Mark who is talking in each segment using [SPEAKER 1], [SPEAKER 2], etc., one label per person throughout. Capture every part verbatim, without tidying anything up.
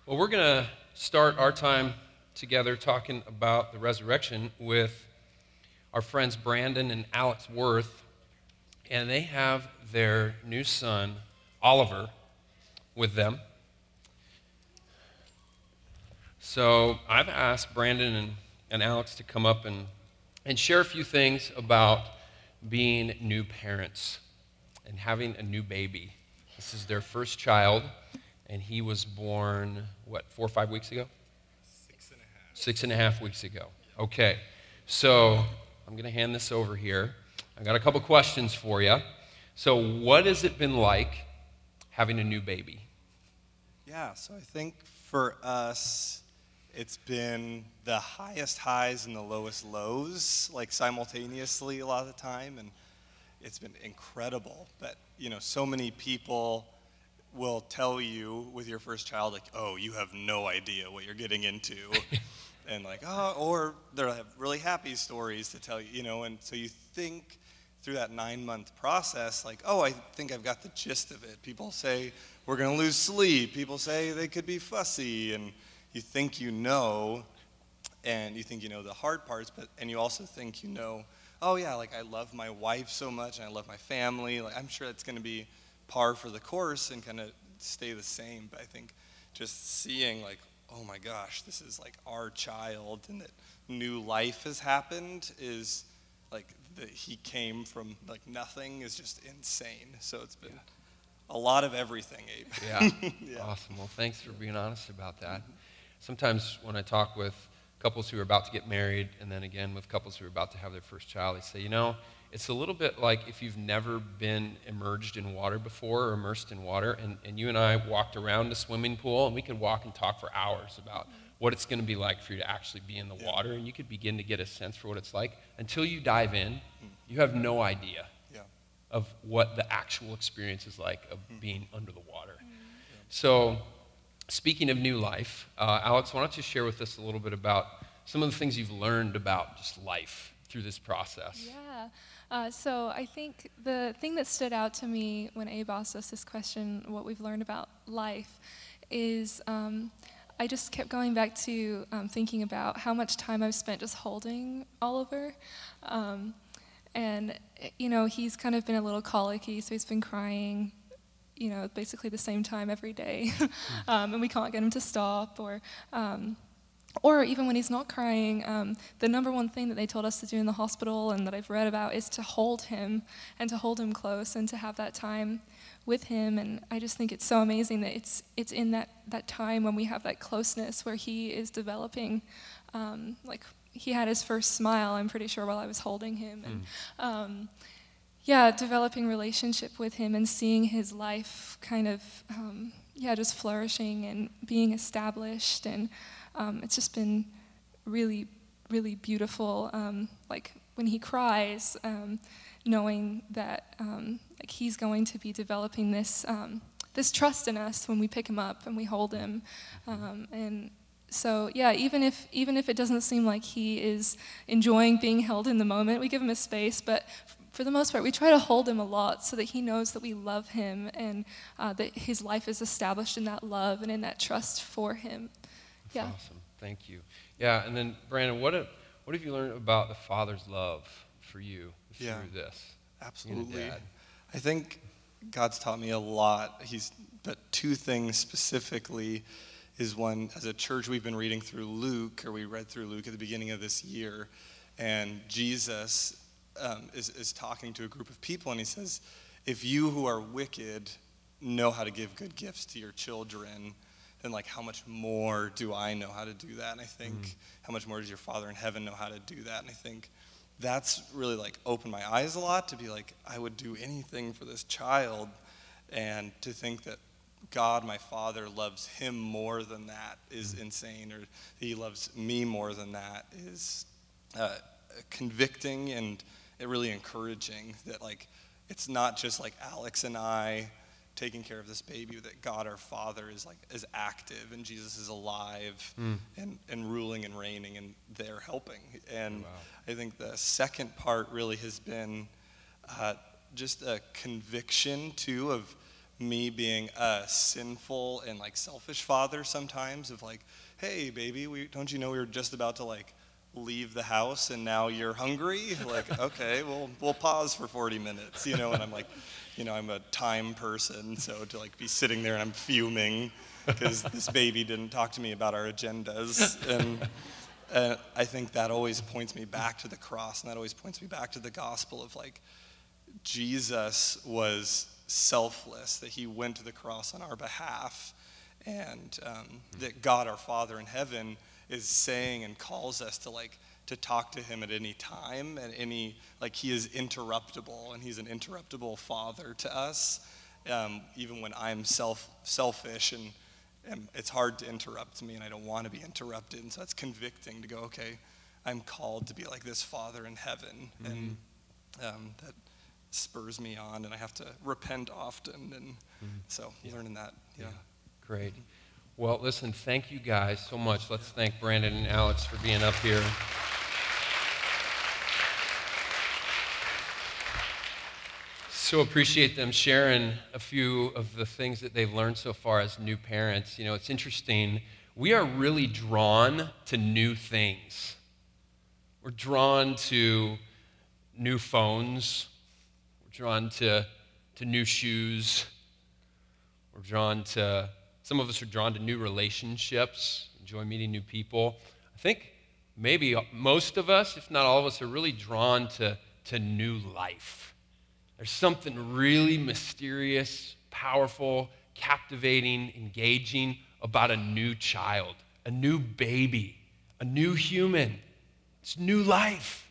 [SPEAKER 1] Well, we're going to start our time together talking about the resurrection with our friends Brandon and Alex Worth, and they have their new son, Oliver, with them. So I've asked Brandon and, and Alex to come up and, and share a few things about being new parents and having a new baby. This is their first child, and he was born, what, four or five weeks ago?
[SPEAKER 2] Six and a half.
[SPEAKER 1] Six and a half weeks ago. Okay, so I'm going to hand this over here. I got a couple questions for you. So what has it been like having a new baby?
[SPEAKER 2] Yeah, so I think for us, it's been the highest highs and the lowest lows, like simultaneously a lot of the time, and it's been incredible. But, you know, so many people will tell you with your first child, like, oh, you have no idea what you're getting into. And like, oh, or they'll have really happy stories to tell you, you know, and so you think through that nine-month process, like, oh, I think I've got the gist of it. People say we're going to lose sleep. People say they could be fussy, and you think you know, and you think you know the hard parts, but and you also think you know, oh yeah, like I love my wife so much, and I love my family. Like I'm sure it's going to be par for the course and kind of stay the same. But I think just seeing like, oh my gosh, this is like our child, and that new life has happened is like that he came from like nothing is just insane. So it's been a lot of everything, Abe.
[SPEAKER 1] Yeah.
[SPEAKER 2] Yeah.
[SPEAKER 1] Awesome. Well, thanks for being honest about that. Sometimes when I talk with couples who are about to get married, and then again with couples who are about to have their first child, they say, you know, it's a little bit like if you've never been immersed in water before or immersed in water, and, and you and I walked around a swimming pool, and we could walk and talk for hours about what it's going to be like for you to actually be in the
[SPEAKER 2] Yeah.
[SPEAKER 1] water, and you could begin to get a sense for what it's like. Until you dive in, you have no idea
[SPEAKER 2] Yeah.
[SPEAKER 1] of what the actual experience is like of being under the water. So, speaking of new life, uh, Alex, why don't you share with us a little bit about some of the things you've learned about just life through this process?
[SPEAKER 3] Yeah. Uh, so I think the thing that stood out to me when Abe asked us this question, what we've learned about life, is um, I just kept going back to um, thinking about how much time I've spent just holding Oliver. Um, and, you know, he's kind of been a little colicky, so he's been crying, you know, basically the same time every day. um, and we can't get him to stop, or... Um, Or even when he's not crying, um, the number one thing that they told us to do in the hospital and that I've read about is to hold him and to hold him close and to have that time with him. And I just think it's so amazing that it's it's in that, that time when we have that closeness where he is developing. Um, like he had his first smile, I'm pretty sure, while I was holding him. And um, yeah, developing relationship with him and seeing his life kind of, um, yeah, just flourishing and being established. And Um, it's just been really, really beautiful. Um, like when he cries, um, knowing that um, like he's going to be developing this um, this trust in us when we pick him up and we hold him. Um, and so yeah, even if even if it doesn't seem like he is enjoying being held in the moment, we give him a space. But f- for the most part, we try to hold him a lot so that he knows that we love him and uh, that his life is established in that love and in that trust for him.
[SPEAKER 1] That's
[SPEAKER 3] Yeah.
[SPEAKER 1] awesome. Thank you. Yeah, and then Brandon, what have, what have you learned about the Father's love for you through
[SPEAKER 2] Yeah.
[SPEAKER 1] this?
[SPEAKER 2] Absolutely.
[SPEAKER 1] Being a dad?
[SPEAKER 2] I think God's taught me a lot. He's, but two things specifically is one, as a church, we've been reading through Luke, or we read through Luke at the beginning of this year, and Jesus um, is, is talking to a group of people, and he says, if you who are wicked know how to give good gifts to your children, then like how much more do I know how to do that? And I think
[SPEAKER 1] Mm.
[SPEAKER 2] how much more does your Father in heaven know how to do that? And I think that's really like opened my eyes a lot to be like, I would do anything for this child, and to think that God, my Father, loves him more than that is insane, or he loves me more than that is uh, convicting and it really encouraging that like it's not just like Alex and I taking care of this baby, that God our Father is like is active and Jesus is alive
[SPEAKER 1] Mm.
[SPEAKER 2] and, and ruling and reigning and they're helping. And
[SPEAKER 1] Wow.
[SPEAKER 2] I think the second part really has been uh, just a conviction too of me being a sinful and like selfish father sometimes of like, hey baby, we don't you know we were just about to like leave the house and now you're hungry? Like, okay, well we'll pause for forty minutes, you know, and I'm like, you know, I'm a time person, so to like be sitting there and I'm fuming because this baby didn't talk to me about our agendas. And uh, I think that always points me back to the cross, and that always points me back to the gospel of like, Jesus was selfless, that he went to the cross on our behalf, and um, that God our Father in heaven is saying and calls us to like to talk to him at any time and any, like he is interruptible, and he's an interruptible father to us, um, even when I'm self selfish and, and it's hard to interrupt me and I don't want to be interrupted. And so it's convicting to go, okay, I'm called to be like this Father in heaven, mm-hmm. and um, that spurs me on, and I have to repent often, and mm-hmm. so yeah. learning that, yeah.
[SPEAKER 1] yeah. Great. Well, listen, thank you guys so much. Let's thank Brandon and Alex for being up here. So appreciate them sharing a few of the things that they've learned so far as new parents. You know, it's interesting. We are really drawn to new things. We're drawn to new phones. We're drawn to, to new shoes. We're drawn to, some of us are drawn to new relationships, enjoy meeting new people. I think maybe most of us, if not all of us, are really drawn to, to new life. There's something really mysterious, powerful, captivating, engaging about a new child, a new baby, a new human. It's new life.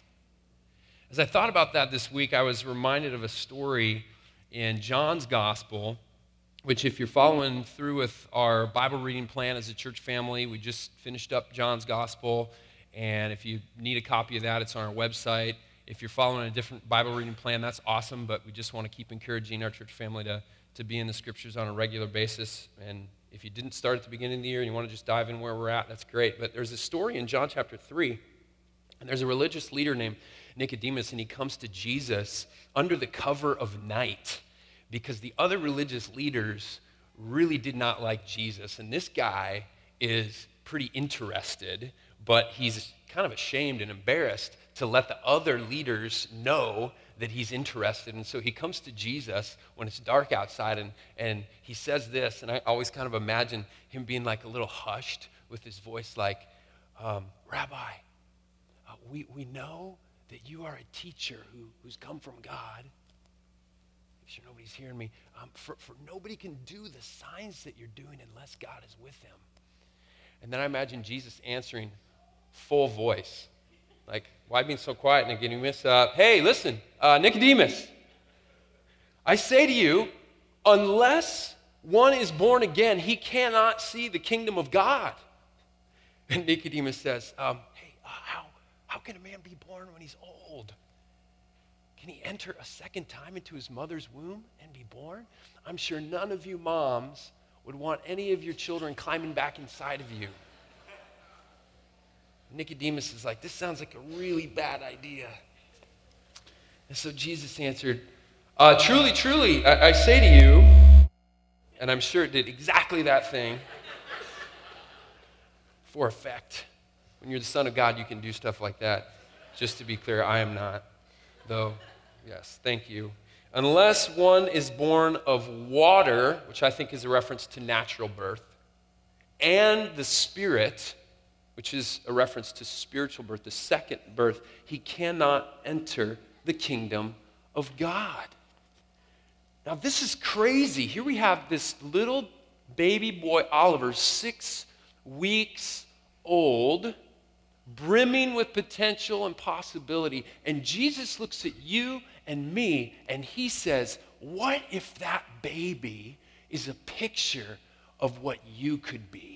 [SPEAKER 1] As I thought about that this week, I was reminded of a story in John's Gospel, which if you're following through with our Bible reading plan as a church family, we just finished up John's Gospel, and if you need a copy of that, it's on our website. If you're following a different Bible reading plan, that's awesome, but we just want to keep encouraging our church family to, to be in the scriptures on a regular basis. And if you didn't start at the beginning of the year and you want to just dive in where we're at, that's great. But there's a story in John chapter three, and there's a religious leader named Nicodemus, and he comes to Jesus under the cover of night because the other religious leaders really did not like Jesus. And this guy is pretty interested, but he's kind of ashamed and embarrassed to let the other leaders know that he's interested. And so he comes to Jesus when it's dark outside, and, and he says this, and I always kind of imagine him being like a little hushed with his voice like, um, Rabbi, uh, we, we know that you are a teacher who, who's come from God. Make sure nobody's hearing me. Um, for, for nobody can do the signs that you're doing unless God is with him. And then I imagine Jesus answering full voice. Like, why being so quiet, Nicodemus? Uh, hey, listen, uh, Nicodemus, I say to you, unless one is born again, he cannot see the kingdom of God. And Nicodemus says, um, hey, uh, how, how can a man be born when he's old? Can he enter a second time into his mother's womb and be born? I'm sure none of you moms would want any of your children climbing back inside of you. Nicodemus is like, this sounds like a really bad idea. And so Jesus answered, uh, truly, truly, I, I say to you, and I'm sure it did exactly that thing for effect. When you're the Son of God, you can do stuff like that. Just to be clear, I am not, though, yes, thank you. Unless one is born of water, which I think is a reference to natural birth, and the Spirit, which is a reference to spiritual birth, the second birth, he cannot enter the kingdom of God. Now, this is crazy. Here we have this little baby boy, Oliver, six weeks old, brimming with potential and possibility. And Jesus looks at you and me, and he says, what if that baby is a picture of what you could be?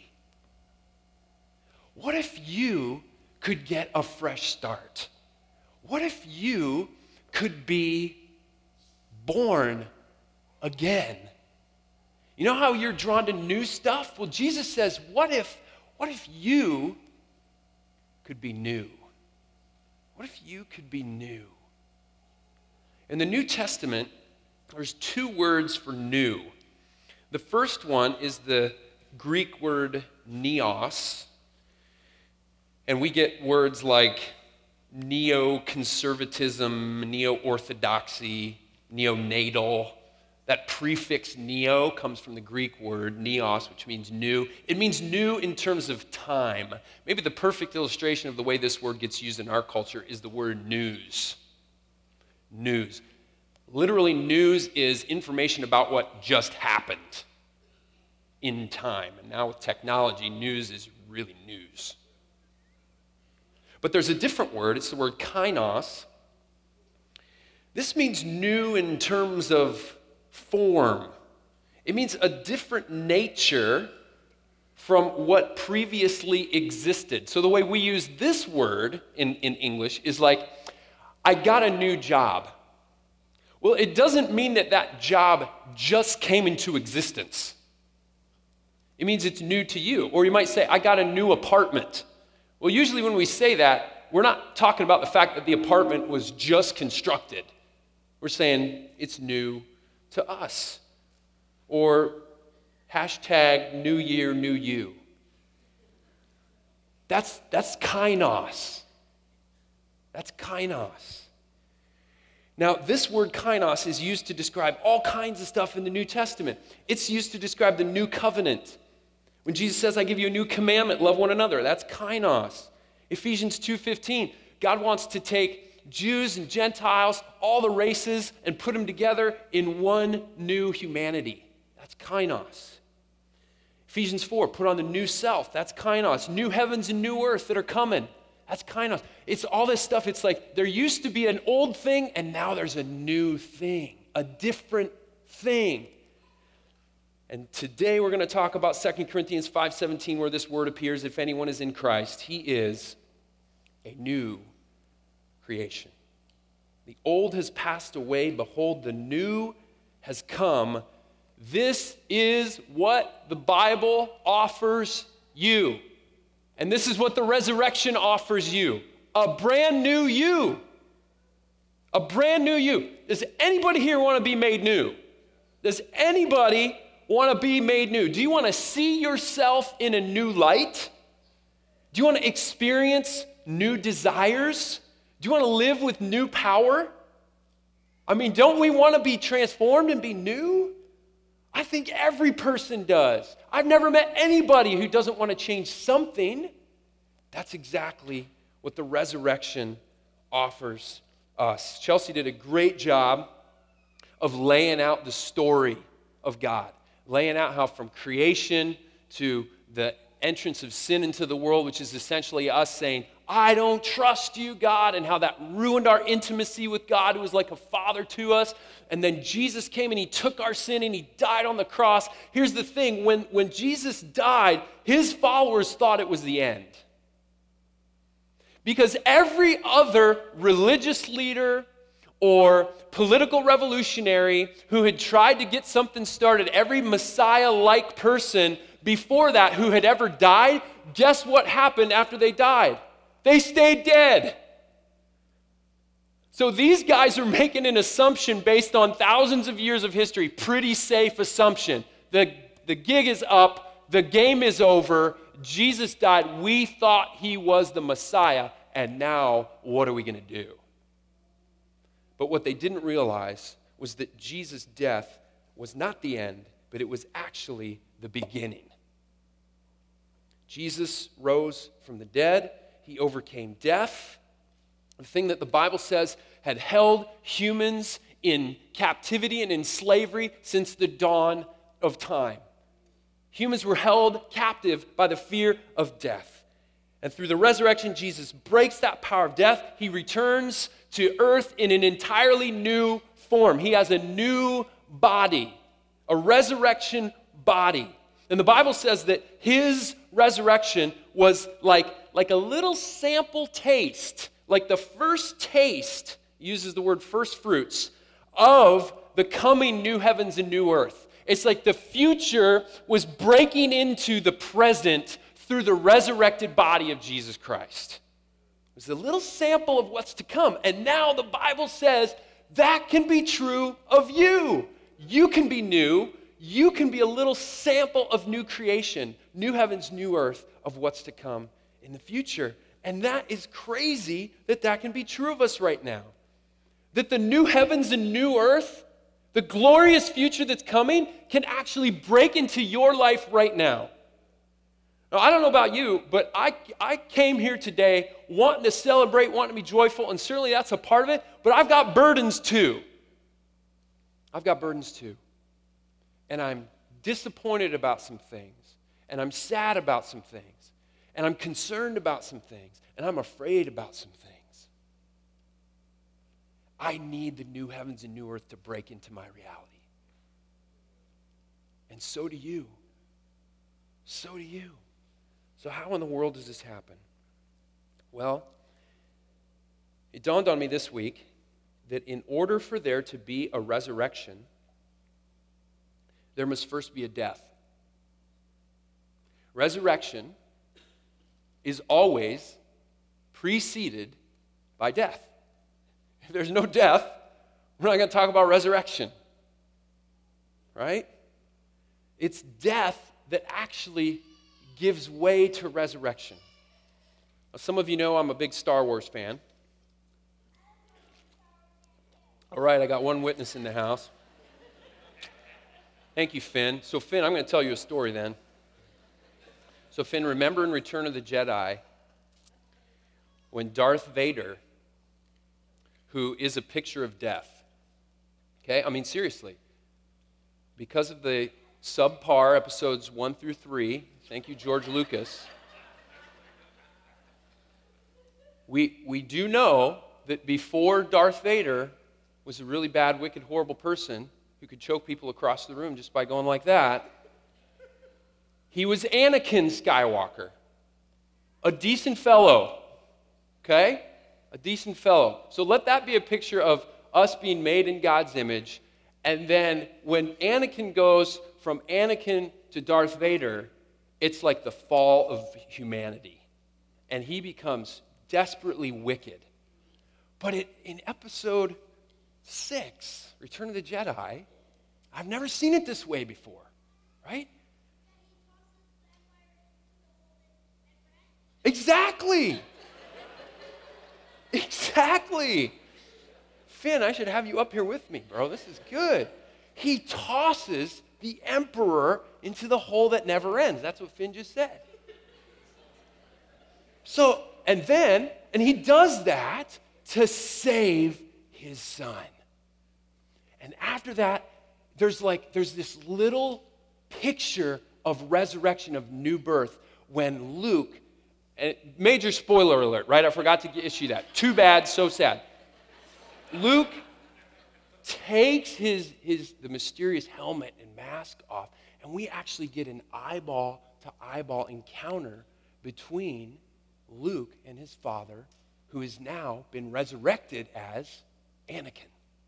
[SPEAKER 1] What if you could get a fresh start? What if you could be born again? You know how you're drawn to new stuff? Well, Jesus says, what if, what if you could be new? What if you could be new? In the New Testament, there's two words for new. The first one is the Greek word neos, and we get words like neoconservatism, neo-orthodoxy, neonatal. That prefix neo comes from the Greek word neos, which means new. It means new in terms of time. Maybe the perfect illustration of the way this word gets used in our culture is the word news. News. Literally, news is information about what just happened in time. And now with technology, news is really news. But there's a different word. It's the word kainos. This means new in terms of form. It means a different nature from what previously existed. So the way we use this word in, in English is like, I got a new job. Well, it doesn't mean that that job just came into existence. It means it's new to you. Or you might say, I got a new apartment. Well, usually when we say that, we're not talking about the fact that the apartment was just constructed. We're saying it's new to us. Or hashtag new year, new you. That's, that's kainos. That's kainos. Now, this word kainos is used to describe all kinds of stuff in the New Testament. It's used to describe the new covenant. When Jesus says, I give you a new commandment, love one another, that's kainos. Ephesians two fifteen, God wants to take Jews and Gentiles, all the races, and put them together in one new humanity. That's kainos. Ephesians four, put on the new self. That's kainos. New heavens and new earth that are coming. That's kainos. It's all this stuff. It's like there used to be an old thing, and now there's a new thing, a different thing. And today we're going to talk about Second Corinthians five seventeen, where this word appears. If anyone is in Christ, he is a new creation. The old has passed away. Behold, the new has come. This is what the Bible offers you. And this is what the resurrection offers you. A brand new you. A brand new you. Does anybody here want to be made new? Does anybody want to be made new? Do you want to see yourself in a new light? Do you want to experience new desires? Do you want to live with new power? I mean, don't we want to be transformed and be new? I think every person does. I've never met anybody who doesn't want to change something. That's exactly what the resurrection offers us. Chelsea did a great job of laying out the story of God, laying out how from creation to the entrance of sin into the world, which is essentially us saying, I don't trust you, God, and how that ruined our intimacy with God, who was like a father to us. And then Jesus came and he took our sin and he died on the cross. Here's the thing, when, when Jesus died, his followers thought it was the end. Because every other religious leader or political revolutionary who had tried to get something started, every Messiah-like person before that who had ever died, guess what happened after they died? They stayed dead. So these guys are making an assumption based on thousands of years of history, pretty safe assumption. The, the gig is up, the game is over, Jesus died, we thought he was the Messiah, and now what are we going to do? But what they didn't realize was that Jesus' death was not the end, but it was actually the beginning. Jesus rose from the dead. He overcame death, the thing that the Bible says had held humans in captivity and in slavery since the dawn of time. Humans were held captive by the fear of death. And through the resurrection, Jesus breaks that power of death. He returns to earth in an entirely new form. He has a new body, a resurrection body. And the Bible says that his resurrection was like, like a little sample taste, like the first taste, uses the word first fruits, of the coming new heavens and new earth. It's like the future was breaking into the present through the resurrected body of Jesus Christ. It was a little sample of what's to come. And now the Bible says that can be true of you. You can be new. you can be a little sample of new creation, new heavens, new earth, of what's to come in the future. And that is crazy that that can be true of us right now. That the new heavens and new earth, the glorious future that's coming, can actually break into your life right now. Now, I don't know about you, but I, I came here today wanting to celebrate, wanting to be joyful, and certainly that's a part of it, but I've got burdens too. I've got burdens too. And I'm disappointed about some things, and I'm sad about some things, and I'm concerned about some things, and I'm afraid about some things. I need the new heavens and new earth to break into my reality. And so do you. So do you. So how in the world does this happen? Well, it dawned on me this week that in order for there to be a resurrection, there must first be a death. Resurrection is always preceded by death. If there's no death, we're not going to talk about resurrection. Right? It's death that actually gives way to resurrection. Now, some of you know I'm a big Star Wars fan. All right, I got one witness in the house. Thank you, Finn. So, Finn, I'm going to tell you a story then. So, Finn, remember in Return of the Jedi, when Darth Vader, who is a picture of death, okay? I mean, seriously, because of the subpar episodes one through three, thank you, George Lucas, we, we do know that before Darth Vader was a really bad, wicked, horrible person who could choke people across the room just by going like that, he was Anakin Skywalker, a decent fellow, okay? A decent fellow. So let that be a picture of us being made in God's image, and then when Anakin goes from Anakin to Darth Vader, it's like the fall of humanity, and he becomes desperately wicked. But it, in episode six, Return of the Jedi, I've never seen it this way before, right? Exactly. Exactly. Finn, I should have you up here with me, bro. This is good. He tosses the emperor into the hole that never ends. That's what Finn just said. So, and then, and he does that to save his son. And after that, there's like, there's this little picture of resurrection, of new birth, when Luke, and major spoiler alert, right? I forgot to issue that. Too bad, so sad. Luke takes his, his the mysterious helmet and mask off, and we actually get an eyeball-to-eyeball encounter between Luke and his father, who has now been resurrected as Anakin.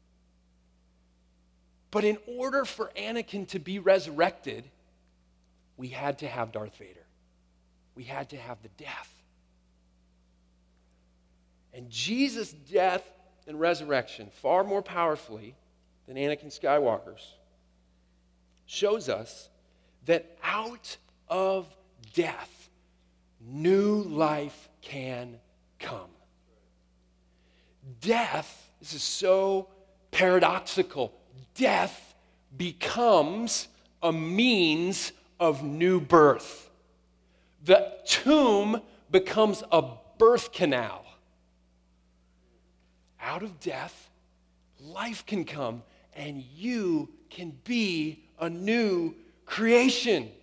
[SPEAKER 1] But in order for Anakin to be resurrected, we had to have Darth Vader. We had to have the death. And Jesus' death and resurrection, far more powerfully than Anakin Skywalker's, shows us that out of death, new life can come. Death, this is so paradoxical, death becomes a means of new birth. The tomb becomes a birth canal. Out of death, life can come, and you can be a new creation.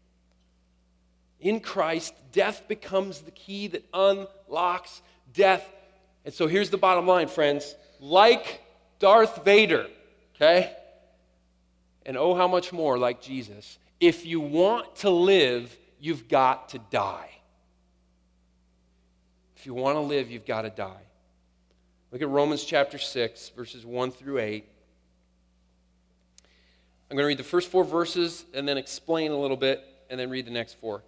[SPEAKER 1] In Christ, death becomes the key that unlocks death. And so here's the bottom line, friends. Like Darth Vader, okay? And oh, how much more like Jesus. If you want to live, you've got to die. If you want to live, you've got to die. Look at Romans chapter six, verses one through eight. I'm going to read the first four verses and then explain a little bit and then read the next four.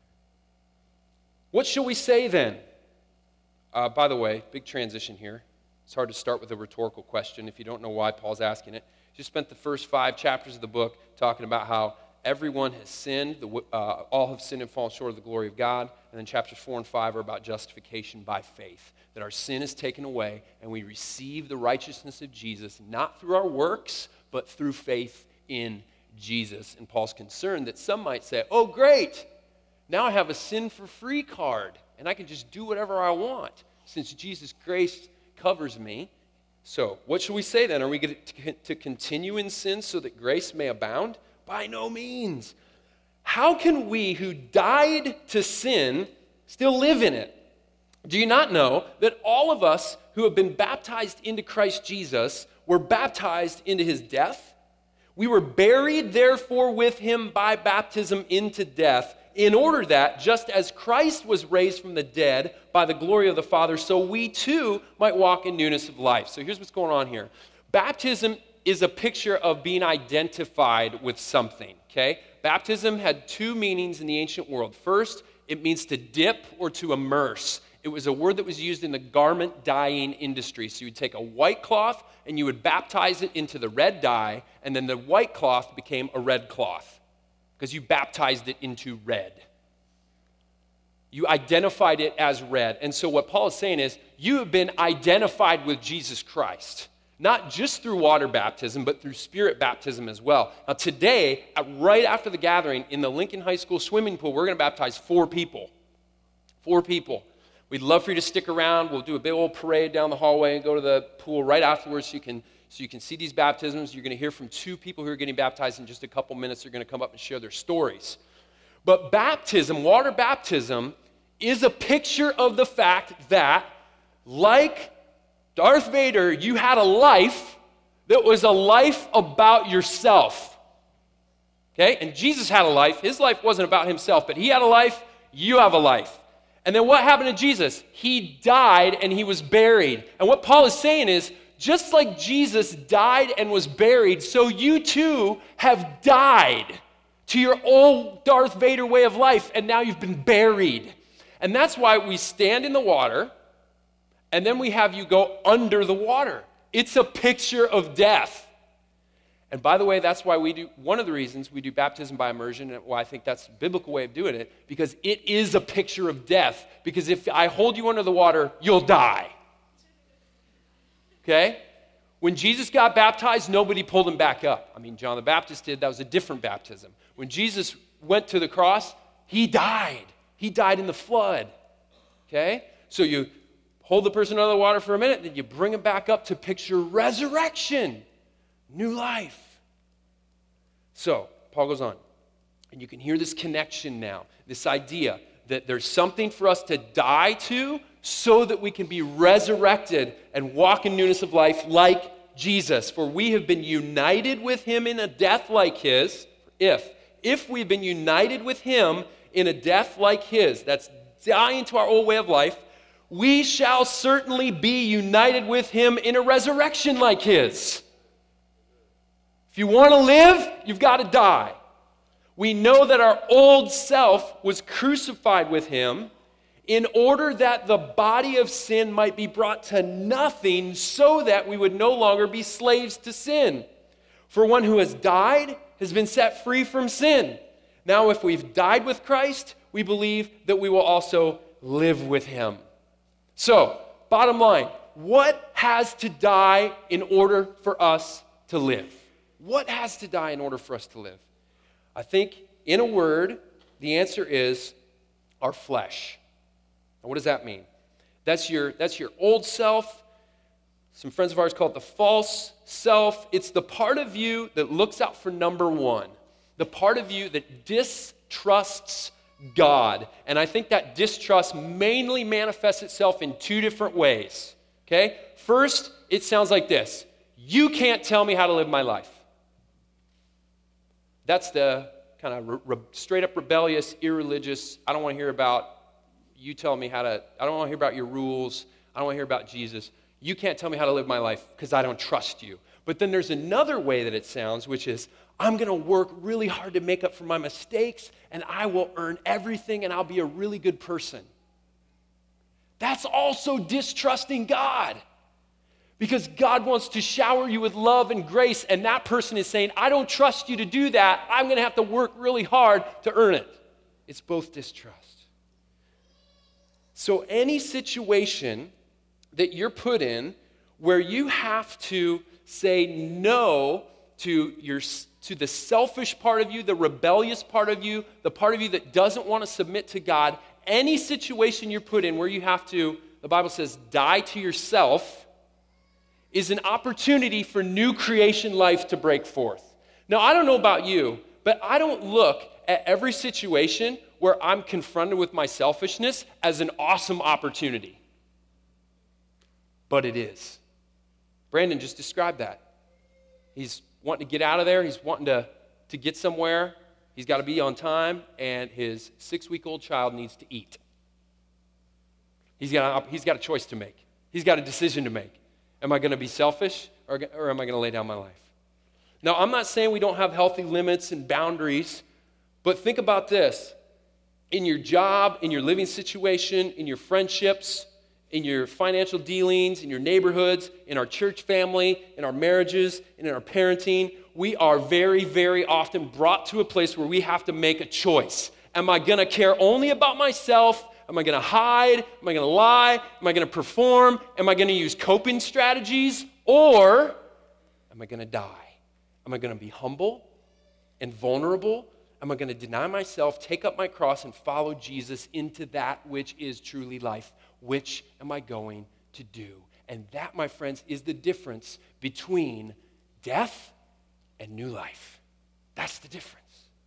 [SPEAKER 1] What shall we say then? Uh, by the way, big transition here. It's hard to start with a rhetorical question if you don't know why Paul's asking it. Just spent the first five chapters of the book talking about how everyone has sinned, the, uh, all have sinned and fallen short of the glory of God. And then chapters four and five are about justification by faith, that our sin is taken away and we receive the righteousness of Jesus, not through our works, but through faith in Jesus. And Paul's concerned that some might say, oh, great, now I have a sin-for-free card, and I can just do whatever I want since Jesus' grace covers me. So what should we say then? Are we going to, to continue in sin so that grace may abound? By no means. How can we who died to sin still live in it? Do you not know that all of us who have been baptized into Christ Jesus were baptized into his death? We were buried, therefore, with him by baptism into death, in order that, just as Christ was raised from the dead by the glory of the Father, so we too might walk in newness of life. So here's what's going on here. Baptism is a picture of being identified with something, okay? Baptism had two meanings in the ancient world. First, it means to dip or to immerse. It was a word that was used in the garment dyeing industry. So you would take a white cloth and you would baptize it into the red dye, and then the white cloth became a red cloth because you baptized it into red. You identified it as red. And so what Paul is saying is, you have been identified with Jesus Christ, not just through water baptism, but through spirit baptism as well. Now today, right after the gathering in the Lincoln High School swimming pool, we're going to baptize four people. Four people. We'd love for you to stick around. We'll do a big old parade down the hallway and go to the pool right afterwards so you can, so you can see these baptisms. You're going to hear from two people who are getting baptized in just a couple minutes. They're going to come up and share their stories. But baptism, water baptism, is a picture of the fact that, like Darth Vader, you had a life that was a life about yourself. Okay? And Jesus had a life. His life wasn't about himself, but he had a life. You have a life. And then what happened to Jesus? He died and he was buried. And what Paul is saying is, just like Jesus died and was buried, so you too have died to your old Darth Vader way of life, and now you've been buried. And that's why we stand in the water, and then we have you go under the water. It's a picture of death. And by the way, that's why we do, one of the reasons we do baptism by immersion, and why I think that's a biblical way of doing it, because it is a picture of death. Because if I hold you under the water, you'll die. Okay? When Jesus got baptized, nobody pulled him back up. I mean, John the Baptist did. That was a different baptism. When Jesus went to the cross, he died. He died in the flood. Okay? So you hold the person under the water for a minute, then you bring him back up to picture resurrection. New life. So, Paul goes on, and you can hear this connection now, this idea that there's something for us to die to so that we can be resurrected and walk in newness of life like Jesus. For we have been united with him in a death like his, if, if we've been united with him in a death like his, that's dying to our old way of life, we shall certainly be united with him in a resurrection like his. If you want to live, you've got to die. We know that our old self was crucified with him in order that the body of sin might be brought to nothing so that we would no longer be slaves to sin. For one who has died has been set free from sin. Now, if we've died with Christ, we believe that we will also live with him. So, bottom line, what has to die in order for us to live? What has to die in order for us to live? I think, in a word, the answer is our flesh. Now, what does that mean? That's your, that's your old self. Some friends of ours call it the false self. It's the part of you that looks out for number one, the part of you that distrusts God. And I think that distrust mainly manifests itself in two different ways. Okay? First, it sounds like this. You can't tell me how to live my life. That's the kind of re- re- straight up rebellious, irreligious, I don't want to hear about you telling me how to, I don't want to hear about your rules. I don't want to hear about Jesus. You can't tell me how to live my life because I don't trust you. But then there's another way that it sounds, which is, I'm going to work really hard to make up for my mistakes, and I will earn everything, and I'll be a really good person. That's also distrusting God.
[SPEAKER 4] Because God wants to shower you with love and grace, and that person is saying, I don't trust you to do that. I'm going to have to work really hard to earn it. It's both distrust. So any situation that you're put in where you have to say no to your to the selfish part of you, the rebellious part of you, the part of you that doesn't want to submit to God, any situation you're put in where you have to, the Bible says, die to yourself, is an opportunity for new creation life to break forth. Now, I don't know about you, but I don't look at every situation where I'm confronted with my selfishness as an awesome opportunity. But it is. Brandon just described that. He's wanting to get out of there. He's wanting to, to get somewhere. He's got to be on time, and his six-week-old child needs to eat. He's got, a, he's got a choice to make. He's got a decision to make. Am I going to be selfish, or, or am I going to lay down my life? Now, I'm not saying we don't have healthy limits and boundaries, but think about this. In your job, in your living situation, in your friendships, in your financial dealings, in your neighborhoods, in our church family, in our marriages, and in our parenting, we are very, very often brought to a place where we have to make a choice. Am I going to care only about myself? Am I going to hide? Am I going to lie? Am I going to perform? Am I going to use coping strategies? Or am I going to die? Am I going to be humble and vulnerable? Am I going to deny myself, take up my cross, and follow Jesus into that which is truly life? Which am I going to do? And that, my friends, is the difference between death and new life. That's the difference.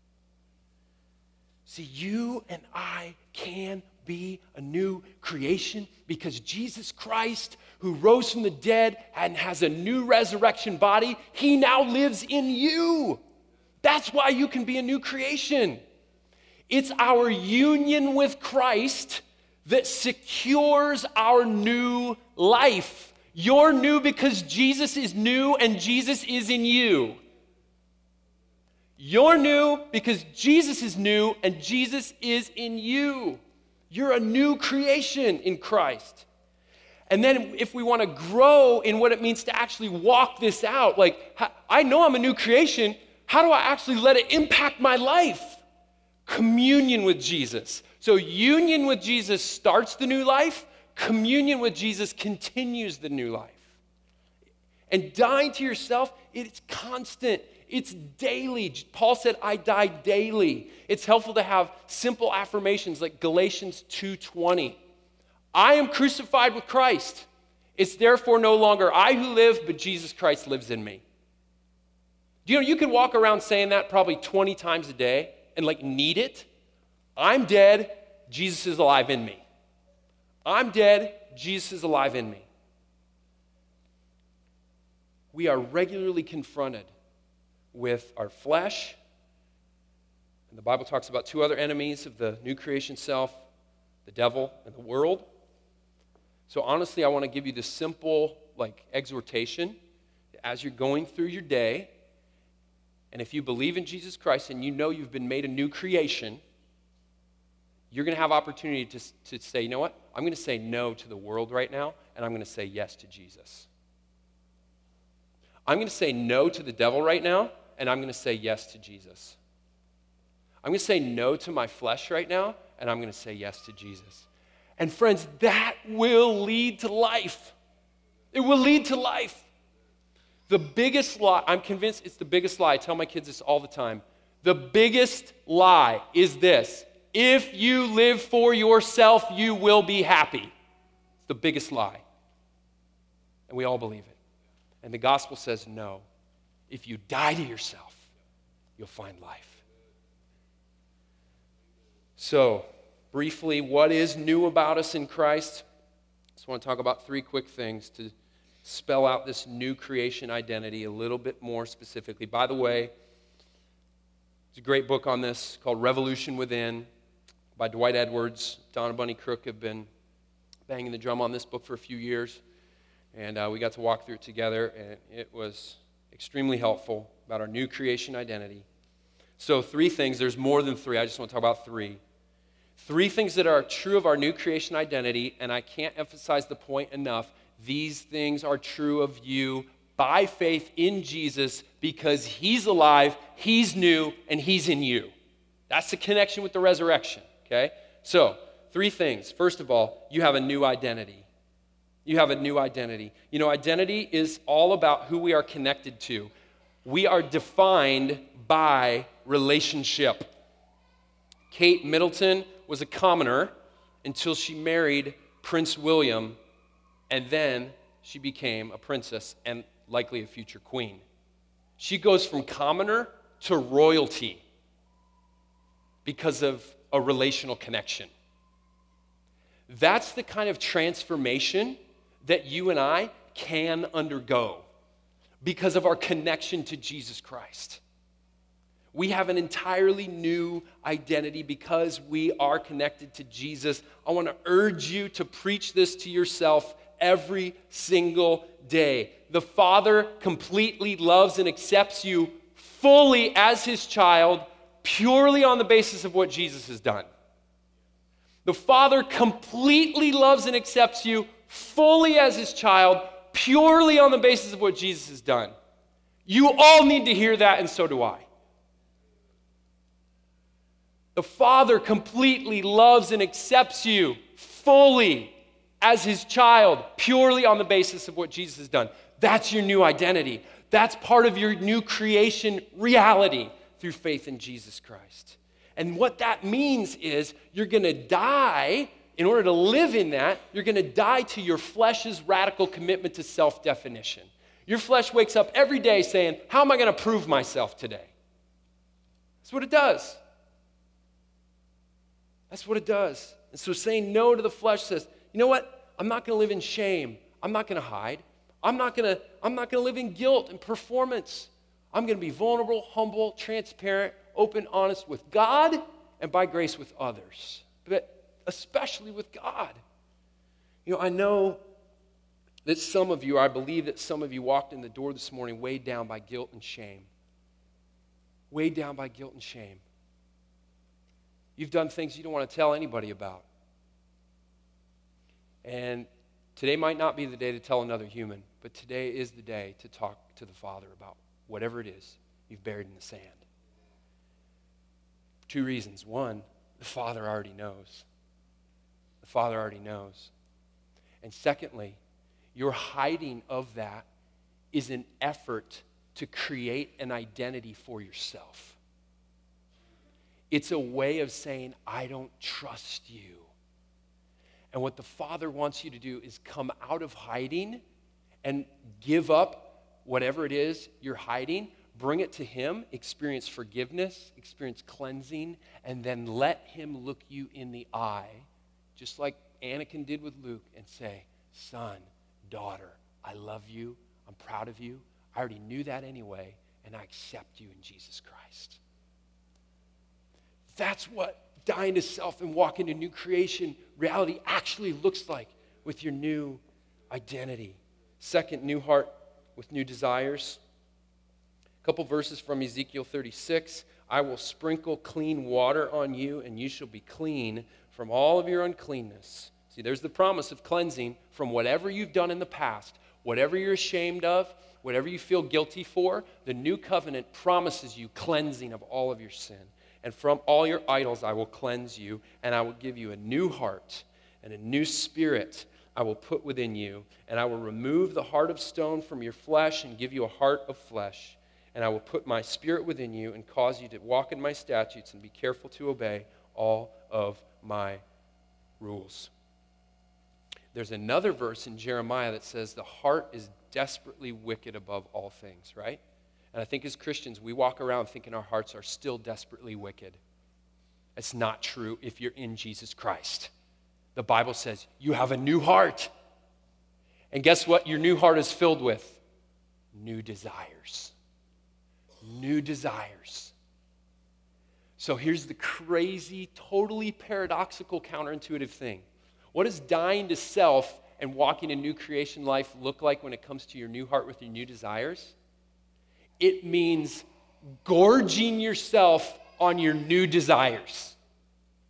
[SPEAKER 4] See, you and I can be a new creation because Jesus Christ, who rose from the dead and has a new resurrection body, he now lives in you. That's why you can be a new creation. It's our union with Christ that secures our new life. You're new because Jesus is new and Jesus is in you. You're new because Jesus is new and Jesus is in you. You're a new creation in Christ. And then if we want to grow in what it means to actually walk this out, like, I know I'm a new creation. How do I actually let it impact my life? Communion with Jesus. So union with Jesus starts the new life. Communion with Jesus continues the new life. And dying to yourself, it's constant. It's daily. Paul said, I die daily. It's helpful to have simple affirmations like Galatians two twenty. I am crucified with Christ. It's therefore no longer I who live, but Jesus Christ lives in me. Do you know, you can walk around saying that probably twenty times a day and like need it. I'm dead, Jesus is alive in me. I'm dead, Jesus is alive in me. We are regularly confronted with our flesh, and the Bible talks about two other enemies of the new creation self, the devil and the world. So honestly, I want to give you this simple like exhortation as you're going through your day, and if you believe in Jesus Christ and you know you've been made a new creation, you're going to have opportunity to, to say, you know what? I'm going to say no to the world right now, and I'm going to say yes to Jesus. I'm going to say no to the devil right now, and I'm going to say yes to Jesus. I'm going to say no to my flesh right now, and I'm going to say yes to Jesus. And friends, that will lead to life. It will lead to life. The biggest lie, I'm convinced it's the biggest lie. I tell my kids this all the time. The biggest lie is this: if you live for yourself, you will be happy. It's the biggest lie. And we all believe it. And the gospel says no. If you die to yourself, you'll find life. So, briefly, what is new about us in Christ? I just want to talk about three quick things to spell out this new creation identity a little bit more specifically. By the way, there's a great book on this called Revolution Within by Dwight Edwards. Don and Bunny Crook have been banging the drum on this book for a few years, and uh, we got to walk through it together, and it was extremely helpful about our new creation identity. So three things. There's more than three. I just want to talk about three. Three things that are true of our new creation identity, and I can't emphasize the point enough. These things are true of you by faith in Jesus because he's alive, he's new, and he's in you. That's the connection with the resurrection, okay? So, three things. First of all, you have a new identity. You have a new identity. You know, identity is all about who we are connected to. We are defined by relationship. Kate Middleton was a commoner until she married Prince William, and then she became a princess and likely a future queen. She goes from commoner to royalty because of a relational connection. That's the kind of transformation that you and I can undergo because of our connection to Jesus Christ. We have an entirely new identity because we are connected to Jesus. I want to urge you to preach this to yourself every single day. The Father completely loves and accepts you fully as his child, purely on the basis of what Jesus has done. The Father completely loves and accepts you fully as his child, purely on the basis of what Jesus has done. You all need to hear that, and so do I. The Father completely loves and accepts you fully as his child, purely on the basis of what Jesus has done. That's your new identity. That's part of your new creation reality through faith in Jesus Christ. And what that means is you're going to die, in order to live in that, you're going to die to your flesh's radical commitment to self-definition. Your flesh wakes up every day saying, how am I going to prove myself today? That's what it does. That's what it does. And so saying no to the flesh says, you know what? I'm not going to live in shame. I'm not going to hide. I'm not going to I'm not going to live in guilt and performance. I'm going to be vulnerable, humble, transparent, open, honest with God, and by grace with others. But especially with God. You know, I know that some of you, I believe that some of you walked in the door this morning weighed down by guilt and shame. Weighed down by guilt and shame. You've done things you don't want to tell anybody about. And today might not be the day to tell another human, but today is the day to talk to the Father about whatever it is you've buried in the sand. Two reasons. One, the Father already knows. The Father already knows. And secondly, your hiding of that is an effort to create an identity for yourself. It's a way of saying, I don't trust you. And what the Father wants you to do is come out of hiding and give up whatever it is you're hiding, bring it to him, experience forgiveness, experience cleansing, and then let him look you in the eye, just like Anakin did with Luke, and say, son, daughter, I love you, I'm proud of you, I already knew that anyway, and I accept you in Jesus Christ. That's what dying to self and walking into new creation reality actually looks like with your new identity. Second, new heart with new desires. A couple verses from Ezekiel thirty-six. I will sprinkle clean water on you, and you shall be clean from all of your uncleanness. See, there's the promise of cleansing from whatever you've done in the past, whatever you're ashamed of, whatever you feel guilty for. The new covenant promises you cleansing of all of your sin. And from all your idols I will cleanse you, and I will give you a new heart and a new spirit I will put within you, and I will remove the heart of stone from your flesh and give you a heart of flesh. And I will put my spirit within you and cause you to walk in my statutes and be careful to obey all of my rules. There's another verse in Jeremiah that says the heart is desperately wicked above all things, right? And I think as Christians, we walk around thinking our hearts are still desperately wicked. It's not true if you're in Jesus Christ. The Bible says you have a new heart. And guess what your new heart is filled with? New desires. New desires. So here's the crazy, totally paradoxical, counterintuitive thing. What does dying to self and walking a new creation life look like when it comes to your new heart with your new desires? It means gorging yourself on your new desires.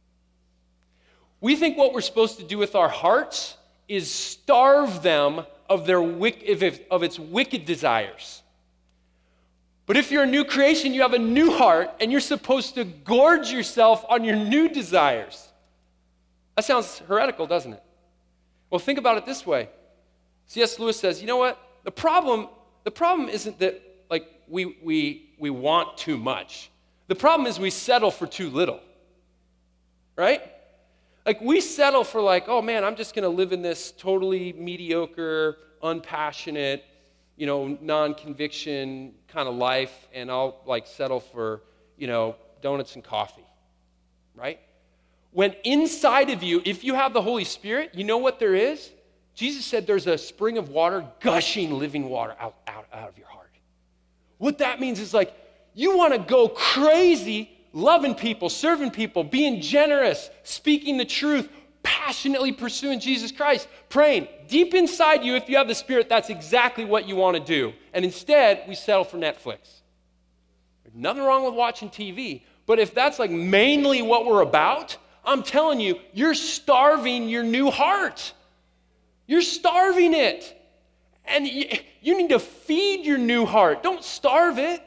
[SPEAKER 4] We think what we're supposed to do with our hearts is starve them of, their wick- of its wicked desires. But if you're a new creation, you have a new heart, and you're supposed to gorge yourself on your new desires. That sounds heretical, doesn't it? Well, think about it this way. C S Lewis says, you know what? The problem, the problem isn't that like we, we, we want too much. The problem is we settle for too little, right? Like we settle for like, oh man, I'm just going to live in this totally mediocre, unpassionate, you know, non-conviction kind of life, and I'll like settle for, you know, donuts and coffee, right? When inside of you, if you have the Holy Spirit, you know what there is? Jesus said there's a spring of water, gushing living water out, out, out of your heart. What that means is like, you want to go crazy loving people, serving people, being generous, speaking the truth, passionately pursuing Jesus Christ, praying. Deep inside you, if you have the Spirit, that's exactly what you want to do. And instead, we settle for Netflix. There's nothing wrong with watching T V, but if that's like mainly what we're about, I'm telling you, you're starving your new heart. You're starving it. And you, you need to feed your new heart. Don't starve it.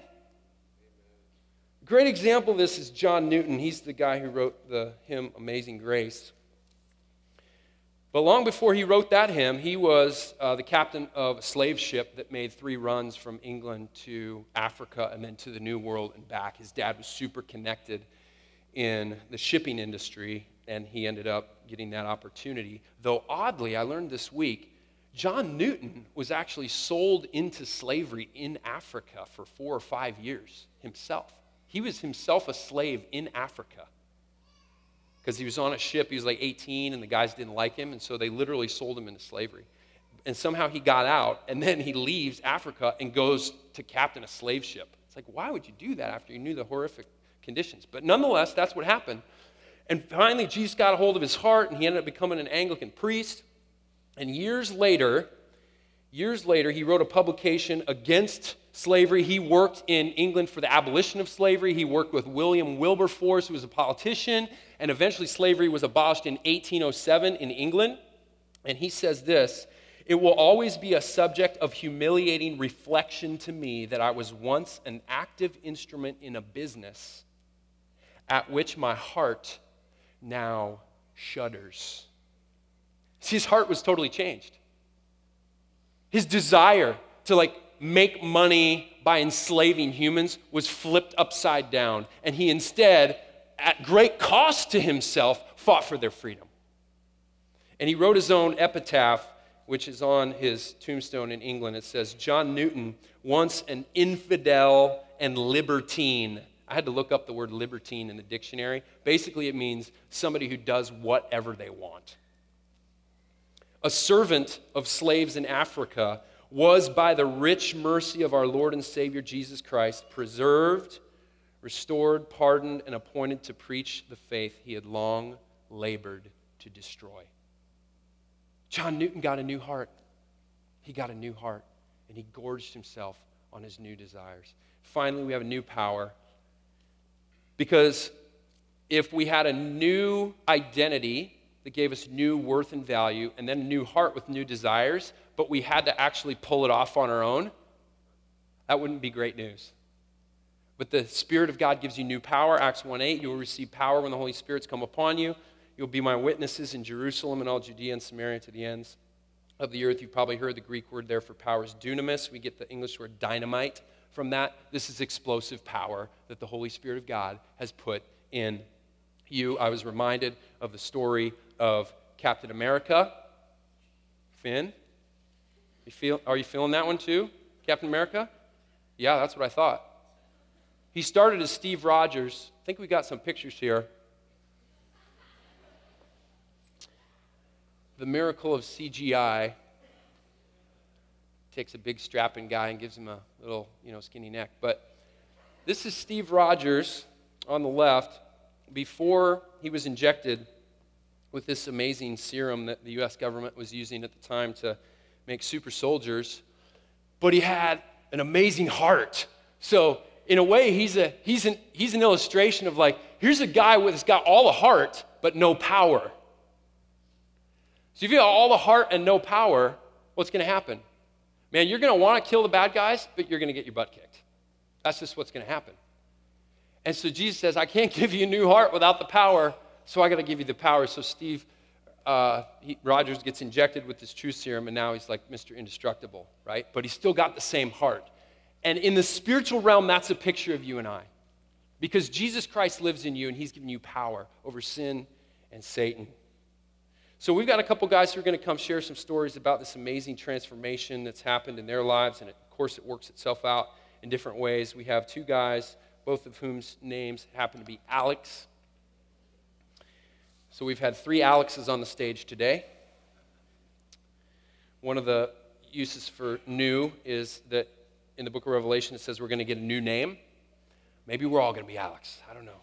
[SPEAKER 4] A great example of this is John Newton. He's the guy who wrote the hymn Amazing Grace. But long before he wrote that hymn, he was uh, the captain of a slave ship that made three runs from England to Africa and then to the New World and back. His dad was super connected in the shipping industry, and he ended up getting that opportunity. Though oddly, I learned this week, John Newton was actually sold into slavery in Africa for four or five years himself. He was himself a slave in Africa because he was on a ship. He was like eighteen, and the guys didn't like him, and so they literally sold him into slavery. And somehow he got out, and then he leaves Africa and goes to captain a slave ship. It's like, why would you do that after you knew the horrific conditions? But nonetheless, that's what happened. And finally, Jesus got a hold of his heart, and he ended up becoming an Anglican priest. And years later, years later, he wrote a publication against slavery. He worked in England for the abolition of slavery. He worked with William Wilberforce, who was a politician, and eventually slavery was abolished in eighteen oh seven in England. And he says this, "It will always be a subject of humiliating reflection to me that I was once an active instrument in a business at which my heart now shudders." See, his heart was totally changed. His desire to like make money by enslaving humans was flipped upside down, and he instead, at great cost to himself, fought for their freedom. And he wrote his own epitaph, which is on his tombstone in England. It says, "John Newton, once an infidel and libertine." I had to look up the word libertine in the dictionary. Basically, it means somebody who does whatever they want. A servant of slaves in Africa, was by the rich mercy of our Lord and Savior Jesus Christ preserved, restored, pardoned, and appointed to preach the faith he had long labored to destroy. John Newton got a new heart. He got a new heart, and he gorged himself on his new desires. Finally, we have a new power. Because if we had a new identity that gave us new worth and value, and then a new heart with new desires, but we had to actually pull it off on our own, that wouldn't be great news. But the Spirit of God gives you new power. Acts one eight, you will receive power when the Holy Spirit's come upon you. You'll be my witnesses in Jerusalem and all Judea and Samaria to the ends of the earth. You've probably heard the Greek word there for power is dunamis. We get the English word dynamite from that. This is explosive power that the Holy Spirit of God has put in you. I was reminded of the story of Captain America. Finn, you feel, are you feeling that one too? Captain America? Yeah, that's what I thought. He started as Steve Rogers. I think we got some pictures here. The miracle of C G I takes a big strapping guy and gives him a little, you know, skinny neck. But this is Steve Rogers on the left before he was injected with this amazing serum that the U S government was using at the time to make super soldiers. But he had an amazing heart. So in a way, he's a he's an he's an illustration of like, here's a guy who's got all the heart but no power. So if you have all the heart and no power, what's going to happen? Man, you're going to want to kill the bad guys, but you're going to get your butt kicked. That's just what's going to happen. And so Jesus says, I can't give you a new heart without the power, so I got to give you the power. So Steve uh, he, Rogers gets injected with this truth serum, and now he's like Mister Indestructible, right? But he's still got the same heart. And in the spiritual realm, that's a picture of you and I. Because Jesus Christ lives in you, and he's given you power over sin and Satan. So we've got a couple guys who are going to come share some stories about this amazing transformation that's happened in their lives, and of course it works itself out in different ways. We have two guys, both of whose names happen to be Alex. So we've had three Alexes on the stage today. One of the uses for new is that in the book of Revelation it says we're going to get a new name. Maybe we're all going to be Alex. I don't know.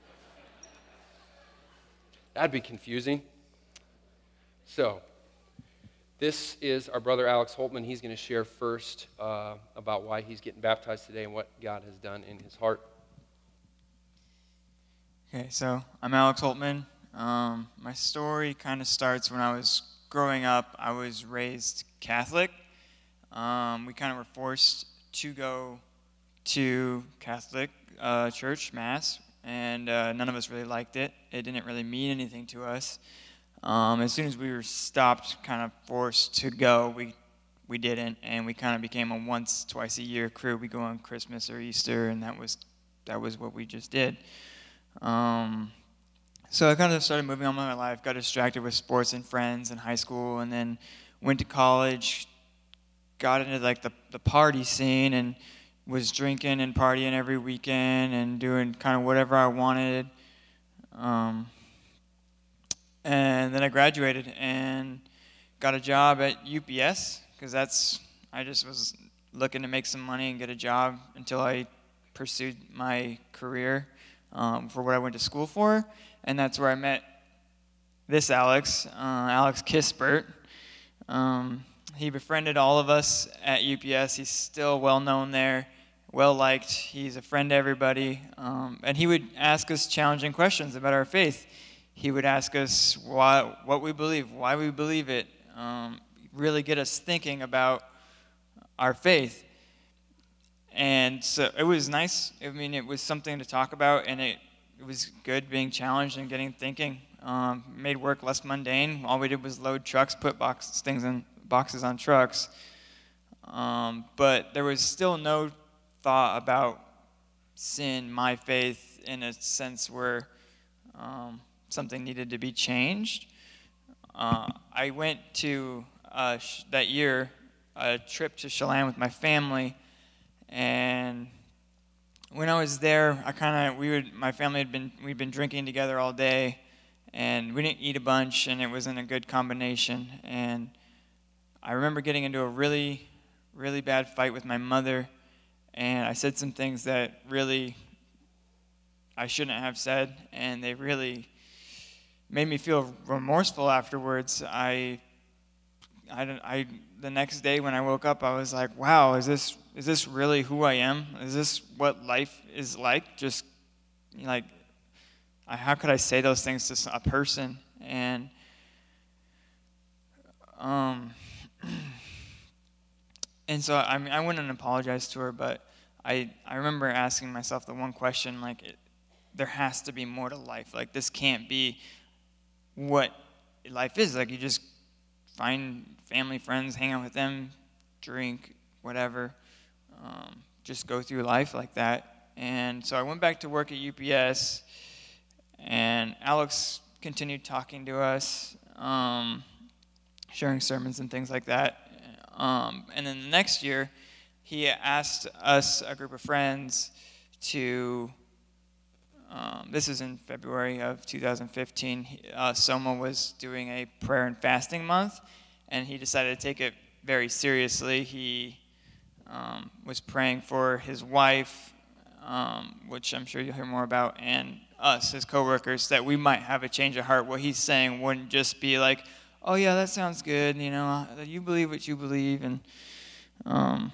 [SPEAKER 4] That'd be confusing. So, this is our brother Alex Holtman. He's going to share first uh, about why he's getting baptized today and what God has done in his heart.
[SPEAKER 5] Okay, so I'm Alex Holtman. Um, my story kind of starts when I was growing up. I was raised Catholic. Um, we kind of were forced to go to Catholic uh, church, Mass, and uh, none of us really liked it. It didn't really mean anything to us. Um, as soon as we were stopped, kind of forced to go, we we didn't, and we kind of became a once, twice a year crew. We go on Christmas or Easter, and that was that was what we just did. Um, so I kind of started moving on with my life, got distracted with sports and friends in high school, and then went to college, got into like the, the party scene, and was drinking and partying every weekend and doing kind of whatever I wanted. Um, and then I graduated and got a job at U P S because that's I just was looking to make some money and get a job until I pursued my career um, for what I went to school for. And that's where I met this Alex, uh, Alex Kispert. Um, he befriended all of us at U P S. He's still well known there, well liked. He's a friend to everybody. Um, and he would ask us challenging questions about our faith. He would ask us why, what we believe, why we believe it, um, really get us thinking about our faith. And so it was nice. I mean, it was something to talk about, and it, it was good being challenged and getting thinking. Um, made work less mundane. All we did was load trucks, put box, things in boxes on trucks. Um, but there was still no thought about sin, my faith, in a sense where um, something needed to be changed. Uh, I went to, uh, sh- that year, a trip to Chelan with my family, and when I was there, I kind of, we would, my family had been, we'd been drinking together all day, and we didn't eat a bunch, and it wasn't a good combination, and I remember getting into a really, really bad fight with my mother, and I said some things that really I shouldn't have said, and they really made me feel remorseful afterwards. I, I, I, the next day when I woke up, I was like, wow, is this, is this really who I am? Is this what life is like? Just, like, how could I say those things to a person? And, um, and so I mean, I went and apologized to her, but I, I remember asking myself the one question, like, it, there has to be more to life. Like, this can't be what life is. Like, you just find family, friends, hang out with them, drink, whatever, um, just go through life like that. And so I went back to work at U P S, and Alex continued talking to us, um, sharing sermons and things like that. Um, and then the next year, he asked us, a group of friends, to Um, this is in February of two thousand fifteen. Uh, Soma was doing a prayer and fasting month, and he decided to take it very seriously. He um, was praying for his wife, um, which I'm sure you'll hear more about, and us, his coworkers, that we might have a change of heart. What he's saying wouldn't just be like, oh yeah, that sounds good, you know, you believe what you believe, and um,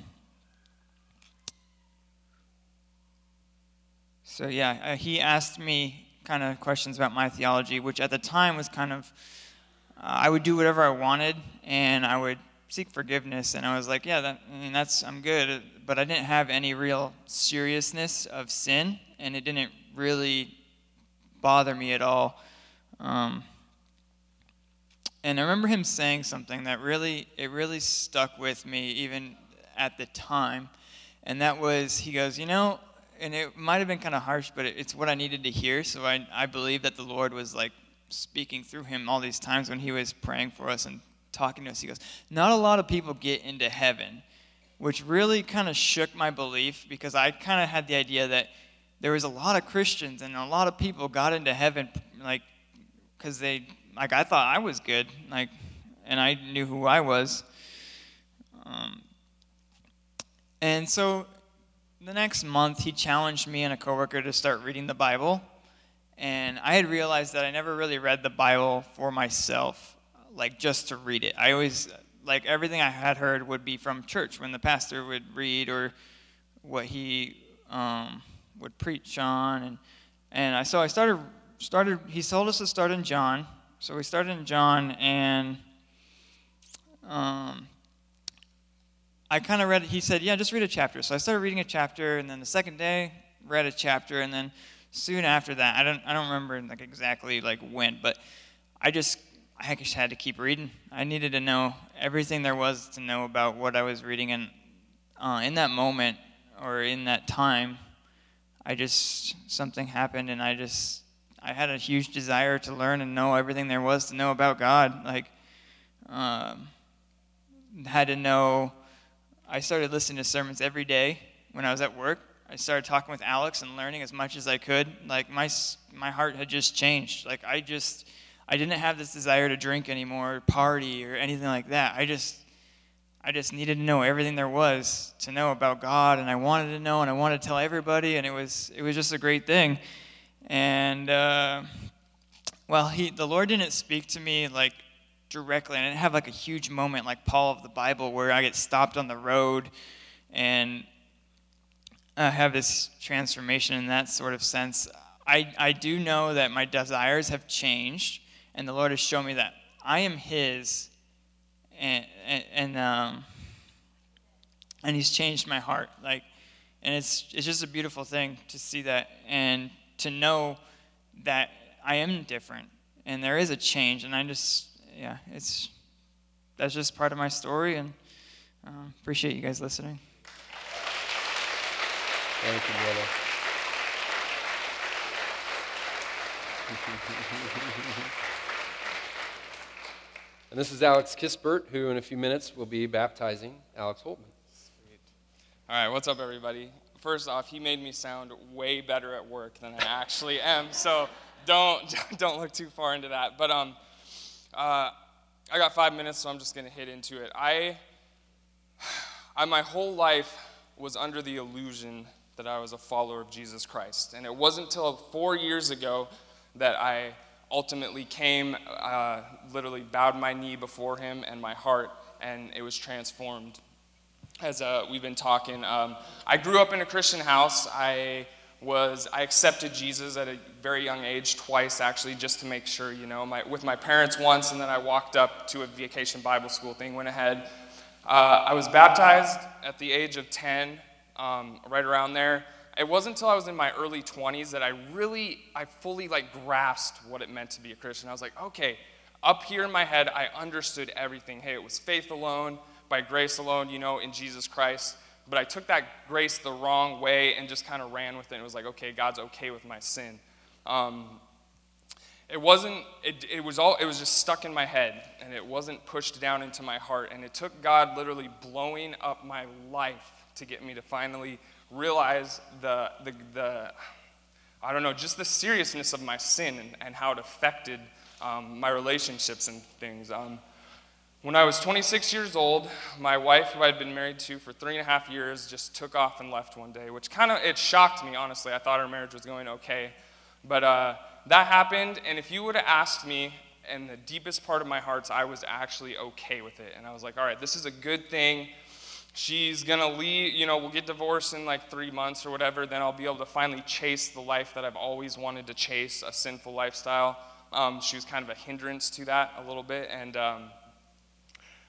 [SPEAKER 5] So yeah, uh, he asked me kind of questions about my theology, which at the time was kind of, uh, I would do whatever I wanted, and I would seek forgiveness. And I was like, yeah, that, I mean, that's, I'm good. But I didn't have any real seriousness of sin, and it didn't really bother me at all. Um, and I remember him saying something that really, it really stuck with me even at the time. And that was, he goes, you know, and it might have been kind of harsh, but it's what I needed to hear. So I, I believe that the Lord was like speaking through him all these times when he was praying for us and talking to us. He goes, not a lot of people get into heaven, which really kind of shook my belief, because I kind of had the idea that there was a lot of Christians and a lot of people got into heaven, like, because they, like, I thought I was good, like, and I knew who I was. Um, and so the next month, he challenged me and a coworker to start reading the Bible. And I had realized that I never really read the Bible for myself, like just to read it. I always, like everything I had heard would be from church when the pastor would read, or what he um, would preach on. And and I so I started, started, he told us to start in John. So we started in John, and um, I kind of read, he said, yeah, just read a chapter. So I started reading a chapter, and then the second day, read a chapter, and then soon after that, I don't I don't remember like exactly like when, but I just I just had to keep reading. I needed to know everything there was to know about what I was reading, and uh, in that moment or in that time, I just something happened, and I just I had a huge desire to learn and know everything there was to know about God. Like, um, had to know. I started listening to sermons every day when I was at work. I started talking with Alex and learning as much as I could. Like, my my heart had just changed. Like, I just, I didn't have this desire to drink anymore, party, or anything like that. I just, I just needed to know everything there was to know about God, and I wanted to know, and I wanted to tell everybody, and it was, it was just a great thing. And, uh, well, he, the Lord didn't speak to me, like, directly. I didn't have, like, a huge moment like Paul of the Bible where I get stopped on the road and Uh, have this transformation in that sort of sense. I, I do know that my desires have changed, and the Lord has shown me that I am His, and and and, um, and He's changed my heart. Like, and it's it's just a beautiful thing to see that, and to know that I am different, and there is a change, and I just yeah, it's that's just part of my story, and uh, appreciate you guys listening.
[SPEAKER 4] Thank you, brother. And this is Alex Kisbert, who in a few minutes will be baptizing Alex Holtman.
[SPEAKER 6] Sweet. All right, what's up, everybody? First off, he made me sound way better at work than I actually am, so don't don't look too far into that. But um, uh, I got five minutes, so I'm just gonna hit into it. I, I my whole life was under the illusion that I was a follower of Jesus Christ. And it wasn't until four years ago that I ultimately came, uh, literally bowed my knee before him and my heart, and it was transformed. As uh, we've been talking, um, I grew up in a Christian house. I was, I accepted Jesus at a very young age, twice actually, just to make sure, you know, my, with my parents once, and then I walked up to a vacation Bible school thing, went ahead. Uh, I was baptized at the age of ten. Um, right around there. It wasn't until I was in my early twenties that I really, I fully like grasped what it meant to be a Christian. I was like, okay, up here in my head, I understood everything. Hey, it was faith alone, by grace alone, you know, in Jesus Christ. But I took that grace the wrong way and just kind of ran with it. It was like, okay, God's okay with my sin. Um, it wasn't, it, it was all, it was just stuck in my head, and it wasn't pushed down into my heart. And it took God literally blowing up my life to get me to finally realize the, the, the I don't know, just the seriousness of my sin and, and how it affected um, my relationships and things. Um, when I was twenty-six years old, my wife, who I'd been married to for three and a half years, just took off and left one day, which kind of, it shocked me, honestly. I thought our marriage was going okay. But uh, that happened, and if you would have asked me, in the deepest part of my heart, I was actually okay with it. And I was like, all right, this is a good thing. She's going to leave, you know, we'll get divorced in like three months or whatever, then I'll be able to finally chase the life that I've always wanted to chase, a sinful lifestyle. Um, she was kind of a hindrance to that a little bit, and um,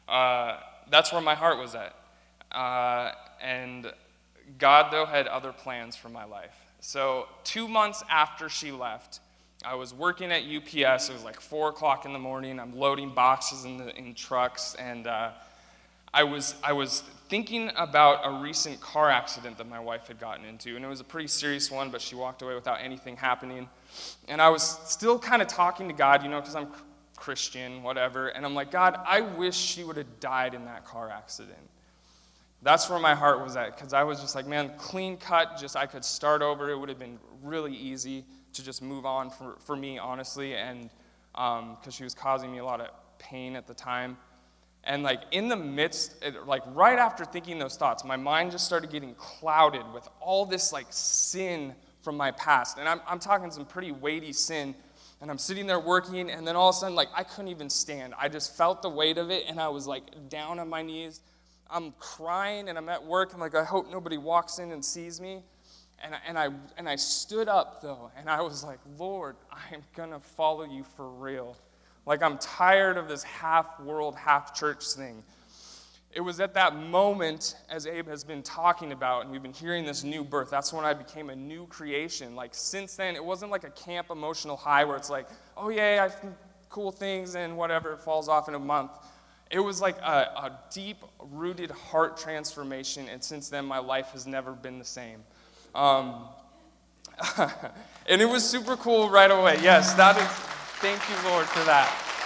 [SPEAKER 6] Uh, that's where my heart was at. Uh, and God, though, had other plans for my life. So two months after she left, I was working at U P S. It was like four o'clock in the morning. I'm loading boxes in, the, in trucks, and uh, I was I was thinking about a recent car accident that my wife had gotten into, and it was a pretty serious one, but she walked away without anything happening. And I was still kind of talking to God, you know, because I'm Christian, whatever, and I'm like, God, I wish she would have died in that car accident. That's where my heart was at, because I was just like, man, clean cut, just I could start over. It would have been really easy to just move on for, for me, honestly, and because um, she was causing me a lot of pain at the time. And like in the midst, like right after thinking those thoughts, my mind just started getting clouded with all this like sin from my past. And I'm, I'm talking some pretty weighty sin. And I'm sitting there working, and then all of a sudden, like I couldn't even stand. I just felt the weight of it, and I was like down on my knees. I'm crying, and I'm at work. I'm like, I hope nobody walks in and sees me. And I, and I and I stood up though, and I was like, Lord, I'm gonna follow you for real. Like, I'm tired of this half-world, half-church thing. It was at that moment, as Abe has been talking about, and we've been hearing this new birth, that's when I became a new creation. Like, since then, it wasn't like a camp emotional high where it's like, oh, yeah, I do cool things, and whatever, it falls off in a month. It was like a, a deep-rooted heart transformation, and since then, my life has never been the same. Um, and it was super cool right away. Yes, that is... Thank you, Lord, for that.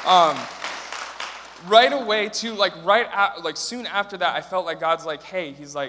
[SPEAKER 6] Um, right away, too, like right, at, like soon after that, I felt like God's like, hey, He's like,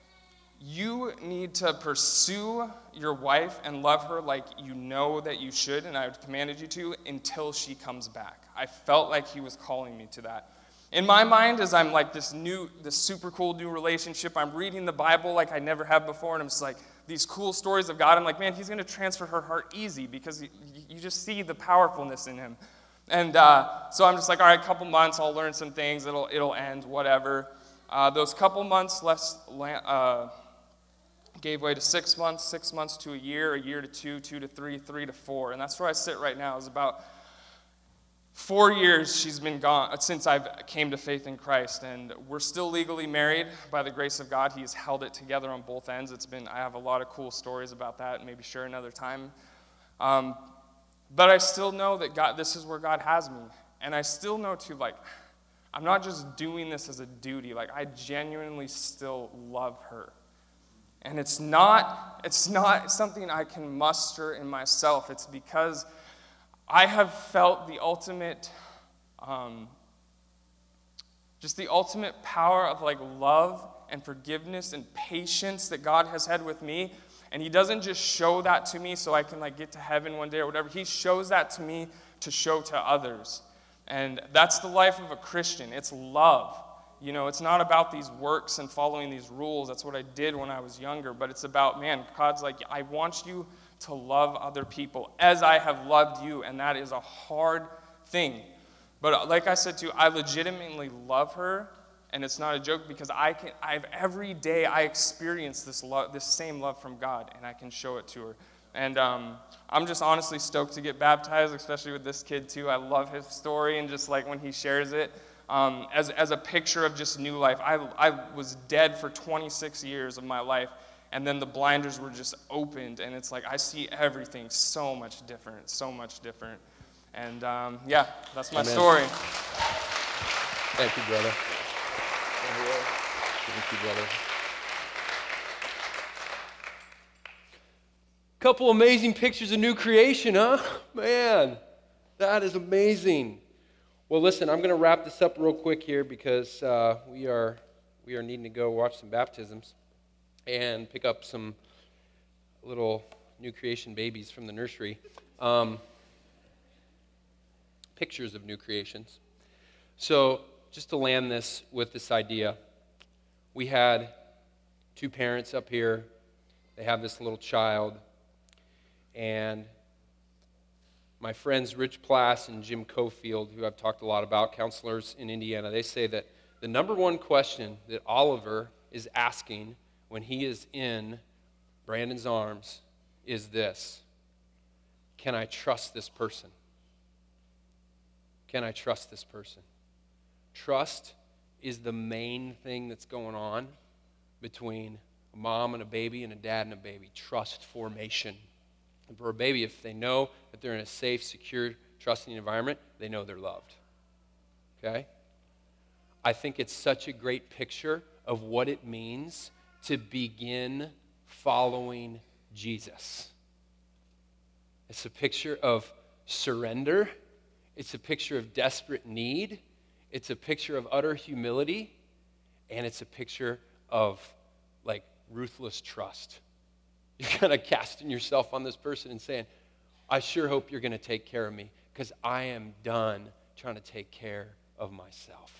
[SPEAKER 6] you need to pursue your wife and love her like you know that you should, and I've commanded you to, until she comes back. I felt like He was calling me to that. In my mind, as I'm like this new, this super cool new relationship, I'm reading the Bible like I never have before, and I'm just like, these cool stories of God. I'm like, man, He's going to transfer her heart easy because you, you just see the powerfulness in Him. And uh, so I'm just like, all right, a couple months, I'll learn some things, it'll it'll end, whatever. Uh, those couple months less, uh, gave way to six months, six months to a year, a year to two, two to three, three to four. And that's where I sit right now, is about Four years she's been gone since I came to faith in Christ, and we're still legally married by the grace of God. He's held it together on both ends. It's been, I have a lot of cool stories about that, maybe share another time. Um, but I still know that God, this is where God has me. And I still know too, like, I'm not just doing this as a duty. Like, I genuinely still love her. And it's not, it's not something I can muster in myself. It's because I have felt the ultimate, um, just the ultimate power of like love and forgiveness and patience that God has had with me. And He doesn't just show that to me so I can like get to heaven one day or whatever. He shows that to me to show to others. And that's the life of a Christian. It's love. You know, it's not about these works and following these rules. That's what I did when I was younger. But it's about, man, God's like, I want you to love other people as I have loved you, and that is a hard thing. But like I said too, I legitimately love her, and it's not a joke because I can. I've every day I experience this love, this same love from God, and I can show it to her. And um, I'm just honestly stoked to get baptized, especially with this kid too. I love his story, and just like when he shares it um, as as a picture of just new life. I I was dead for twenty-six years of my life. And then the blinders were just opened, and it's like I see everything so much different, so much different. And um, yeah, that's my Amen. Story.
[SPEAKER 4] Thank you, brother. Thank you, brother. Couple amazing pictures of new creation, huh? Man, that is amazing. Well, listen, I'm going to wrap this up real quick here because uh, we are we are needing to go watch some baptisms and pick up some little new creation babies from the nursery. Um, pictures of new creations. So just to land this with this idea, we had two parents up here. They have this little child. And my friends Rich Plass and Jim Cofield, who I've talked a lot about, counselors in Indiana, they say that the number one question that Oliver is asking when he is in Brandon's arms is this: can I trust this person? Can I trust this person? Trust is the main thing that's going on between a mom and a baby and a dad and a baby. Trust formation. And for a baby, if they know that they're in a safe, secure, trusting environment, they know they're loved. Okay? I think it's such a great picture of what it means to begin following Jesus. It's a picture of surrender. It's a picture of desperate need. It's a picture of utter humility. And it's a picture of, like, ruthless trust. You're kind of casting yourself on this person and saying, I sure hope you're going to take care of me because I am done trying to take care of myself.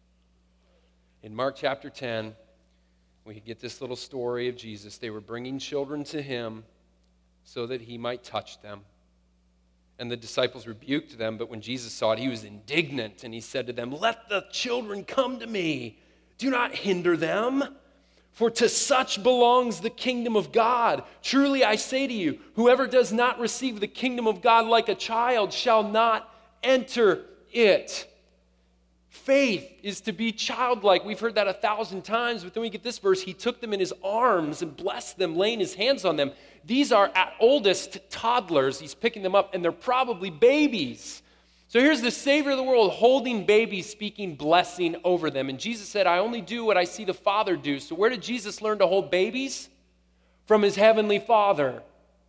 [SPEAKER 4] In Mark chapter ten, we get this little story of Jesus. They were bringing children to him so that he might touch them. And the disciples rebuked them, but when Jesus saw it, he was indignant, and he said to them, let the children come to me. Do not hinder them, for to such belongs the kingdom of God. Truly I say to you, whoever does not receive the kingdom of God like a child shall not enter it. Faith is to be childlike. We've heard that a thousand times, but then we get this verse. He took them in his arms and blessed them, laying his hands on them. These are at oldest toddlers. He's picking them up, and they're probably babies. So here's the Savior of the world holding babies, speaking blessing over them. And Jesus said, I only do what I see the Father do. So where did Jesus learn to hold babies? From his heavenly Father.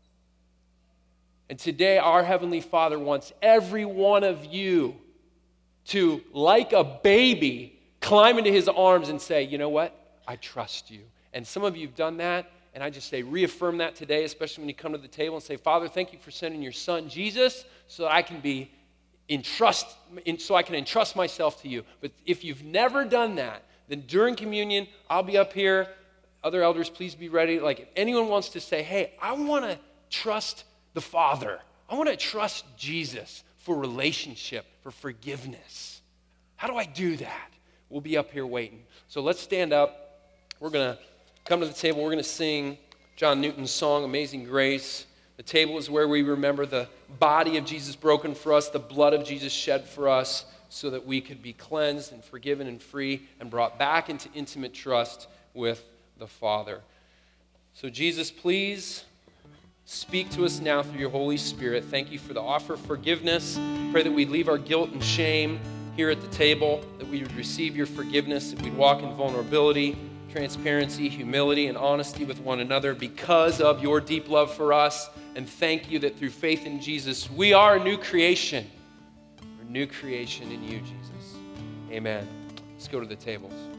[SPEAKER 4] And today our heavenly Father wants every one of you to, like a baby, climb into his arms and say, you know what? I trust you. And some of you have done that, and I just say reaffirm that today, especially when you come to the table and say, Father, thank you for sending your son Jesus so that I can be entrust, in, so I can entrust myself to you. But if you've never done that, then during communion, I'll be up here. Other elders, please be ready. Like if anyone wants to say, hey, I want to trust the Father. I want to trust Jesus for relationship, for forgiveness. How do I do that? We'll be up here waiting. So let's stand up. We're going to come to the table. We're going to sing John Newton's song, Amazing Grace. The table is where we remember the body of Jesus broken for us, the blood of Jesus shed for us, so that we could be cleansed and forgiven and free and brought back into intimate trust with the Father. So Jesus, please speak to us now through your Holy Spirit. Thank you for the offer of forgiveness. Pray that we'd leave our guilt and shame here at the table, that we would receive your forgiveness, that we'd walk in vulnerability, transparency, humility, and honesty with one another because of your deep love for us. And thank you that through faith in Jesus, we are a new creation. We're a new creation in you, Jesus. Amen. Let's go to the tables.